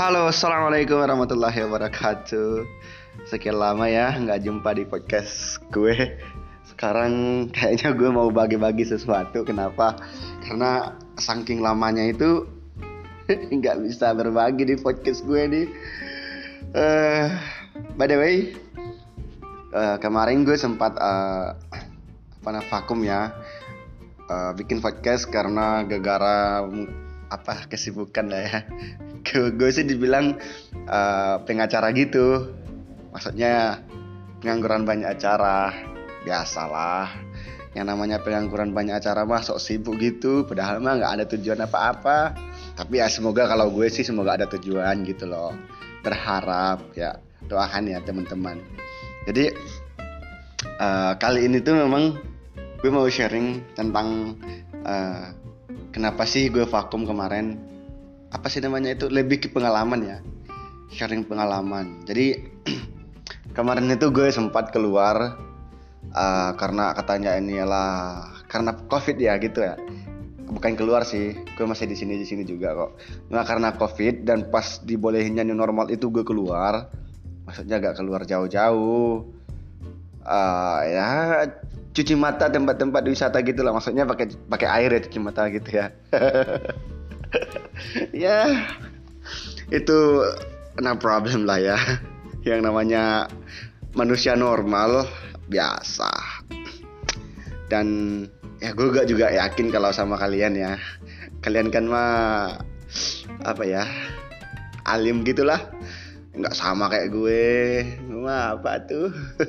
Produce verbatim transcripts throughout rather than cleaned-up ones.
Halo, assalamualaikum warahmatullahi wabarakatuh. Sekian lama ya nggak jumpa di podcast gue. Sekarang kayaknya gue mau bagi-bagi sesuatu. Kenapa? Karena saking lamanya itu nggak bisa berbagi di podcast gue nih. Uh, by the way, uh, kemarin gue sempat uh, apa namanya vakum ya, uh, bikin podcast karena gara-gara apa kesibukan lah ya. Gue sih dibilang uh, pengacara gitu. Maksudnya pengangguran banyak acara. Biasalah, yang namanya pengangguran banyak acara mah sok sibuk gitu. Padahal mah gak ada tujuan apa-apa. Tapi ya semoga, kalau gue sih semoga ada tujuan gitu loh. Berharap ya, doakan ya teman-teman. Jadi uh, kali ini tuh memang gue mau sharing tentang uh, kenapa sih gue vakum kemarin. Apa sih namanya itu, lebih ke pengalaman ya, sharing pengalaman. Jadi kemarin itu gue sempat keluar uh, karena katanya ini lah karena covid ya gitu ya. Bukan keluar sih, gue masih di sini di sini juga kok. Nah karena covid dan pas dibolehinnya new normal itu gue keluar, maksudnya gak keluar jauh-jauh. Uh, ya cuci mata tempat-tempat wisata gitu lah, maksudnya pakai pakai air ya, cuci mata gitu ya. Ya itu no problem lah ya, yang namanya manusia normal biasa. Dan ya gue gak juga yakin kalau sama kalian ya, kalian kan mah apa ya, alim gitulah, nggak sama kayak gue mah apa tuh.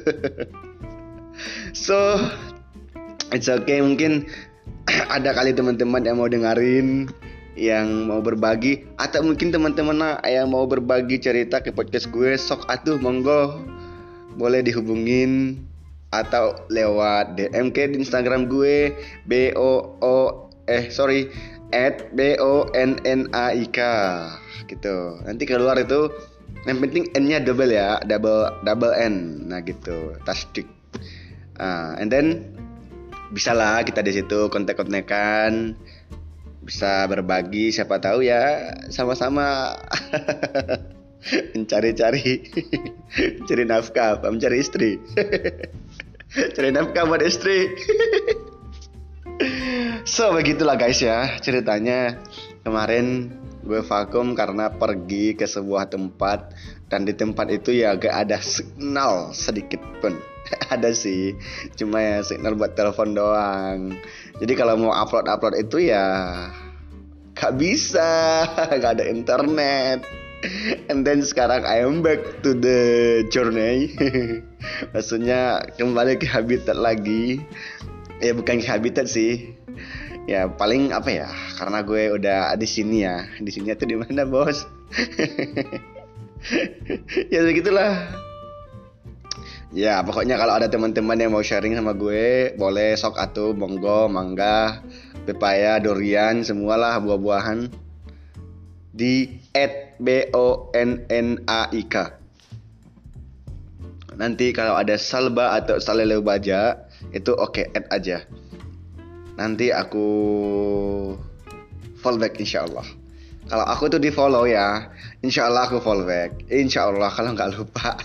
So it's okay, mungkin ada kali teman-teman yang mau dengerin, yang mau berbagi, atau mungkin teman-teman yang mau berbagi cerita ke podcast gue, sok atuh monggo, boleh dihubungin atau lewat D M ke di Instagram gue b o o eh sorry at b o n n a i k gitu. Nanti keluar itu, yang penting n-nya double ya, double double n, nah gitu, tasdik. Uh, and then bisa lah kita di situ kontek-kontekan, bisa berbagi, siapa tahu ya sama-sama mencari-cari cari nafkah, apa mencari istri. Cari nafkah buat istri. So begitulah guys ya ceritanya. Kemarin gue vakum karena pergi ke sebuah tempat, dan di tempat itu ya gak ada signal sedikit pun. Ada sih, cuma ya signal buat telepon doang. Jadi kalau mau upload-upload itu ya gak bisa, gak ada internet. And then sekarang I am back to the journey. Maksudnya kembali ke habitat lagi. Ya bukan ke habitat sih. Ya paling apa ya, karena gue udah di sini ya. Di sini tuh di mana bos? Ya begitulah. Ya pokoknya kalau ada teman-teman yang mau sharing sama gue, boleh sok atuh, monggo, mangga, pepaya, durian, semualah buah-buahan di at b o n n a i k. Nanti kalau ada salba atau salele baja itu oke, add aja. Nanti aku follow back insyaallah. Kalau aku tuh di follow ya, insyaallah aku follow back. Insyaallah kalau nggak lupa.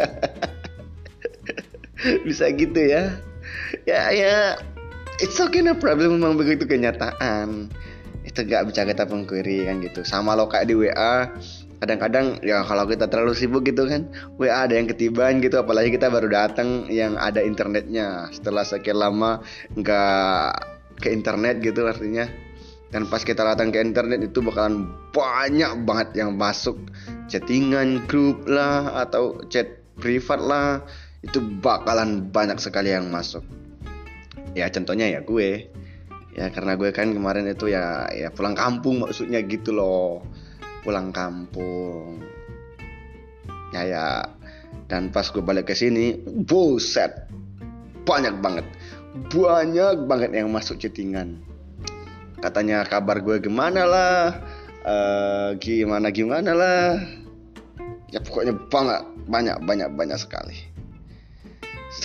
Bisa gitu ya. Ya ya it's okay, no problem, memang begitu kenyataan. Itu gak bisa kita pungkiri kan gitu. Sama lo kayak di W A, kadang-kadang ya kalau kita terlalu sibuk gitu kan, W A ada yang ketiban gitu, apalagi kita baru datang yang ada internetnya setelah sekian lama nggak ke internet gitu artinya. Dan pas kita datang ke internet itu bakalan banyak banget yang masuk, chattingan grup lah atau chat privat lah, itu bakalan banyak sekali yang masuk. Ya contohnya ya gue, ya karena gue kan kemarin itu ya ya pulang kampung, maksudnya gitu loh, pulang kampung. Ya ya, dan pas gue balik ke sini, buset, banyak banget, banyak banget yang masuk chattingan. Katanya kabar gue gimana lah, uh, gimana gimana lah. Ya pokoknya banget, banyak banyak banyak sekali. So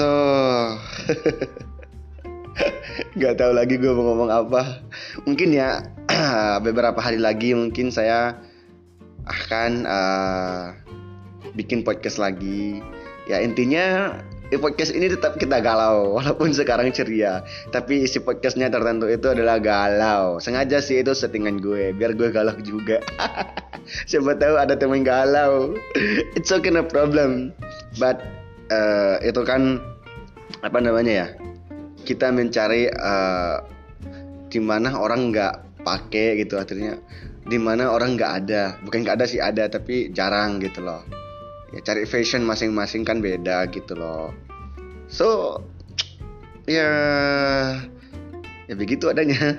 gak tahu lagi gue mau ngomong apa. Mungkin ya beberapa hari lagi mungkin saya akan uh, bikin podcast lagi. Ya intinya di podcast ini tetap kita galau walaupun sekarang ceria, tapi isi podcastnya tertentu itu adalah galau. Sengaja sih, itu settingan gue biar gue galau juga. Siapa tahu ada teman galau. It's okay, no problem. But uh, itu kan apa namanya ya, kita mencari uh, di mana orang nggak pakai gitu, artinya di mana orang nggak ada, bukan nggak ada sih, ada tapi jarang gitu loh. Ya cari fashion masing-masing kan beda gitu loh. So ya ya begitu adanya.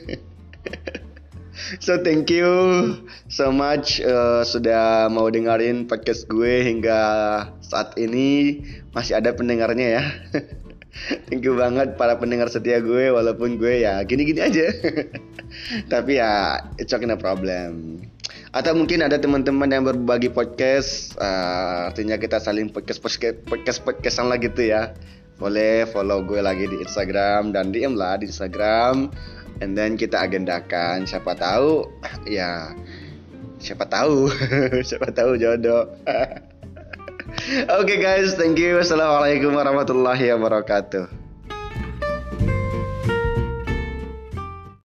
So thank you so much uh, sudah mau dengerin podcast gue hingga saat ini, masih ada pendengarnya ya. Thank you banget para pendengar setia gue, walaupun gue ya gini-gini aja. Tapi ya it's okay, no problem. Atau mungkin ada teman-teman yang berbagi podcast, uh, artinya kita saling podcast podcast podcast podcastan lah gitu ya. Boleh follow gue lagi di Instagram dan D M lah di Instagram, and then kita agendakan. Siapa tahu ya, siapa tahu, siapa tahu jodoh. Oke okay guys, thank you. Assalamualaikum warahmatullahi wabarakatuh.